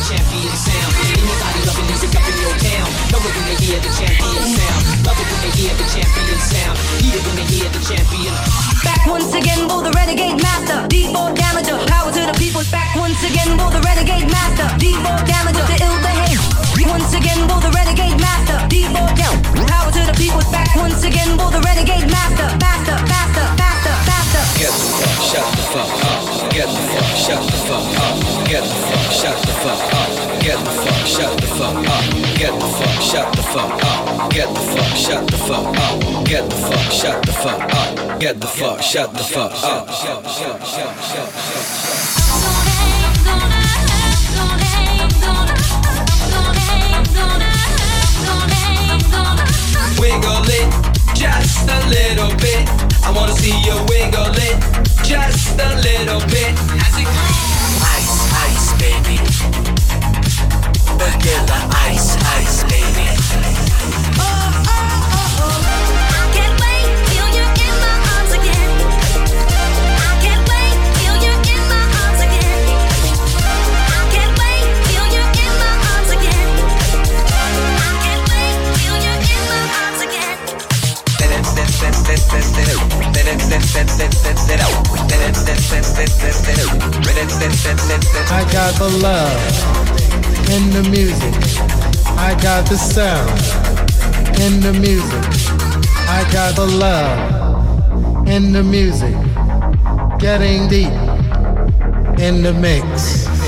champion sound. Anybody loving music up in your town, know it when they hear the champion sound. Love it when they hear the champion sound. Hear it when they hear the champion. Back once again, for the renegade master. D4 damager, power to the people. Back once again, for the renegade master. D4 damager, the ill behavior. Once again, for the renegade master. D4 down, power to the people. Back once again, for the renegade master. Faster, faster, faster, faster. Get the fuck, shut the fuck up. Get the fuck, shut the fuck up. Get the fuck, shut the fuck up. Get the fuck, shut the fuck up. Get the fuck, shut the fuck up. Get the fuck, shut the fuck up. Get the fuck, shut the fuck up. Get the fuck, shut the fuck up. Wiggle it, just a little bit. I wanna see you wiggle it, just a little bit. As it ice, ice, baby. Vanilla ice, ice, baby. Oh, oh, oh, oh. I can't wait till you're in my arms again. I can't wait till you're in my arms again. I can't wait till you're in my arms again. I can't wait till you're in my arms again. I got the love in the music. I got the sound in the music. I got the love in the music. Getting deep in the mix.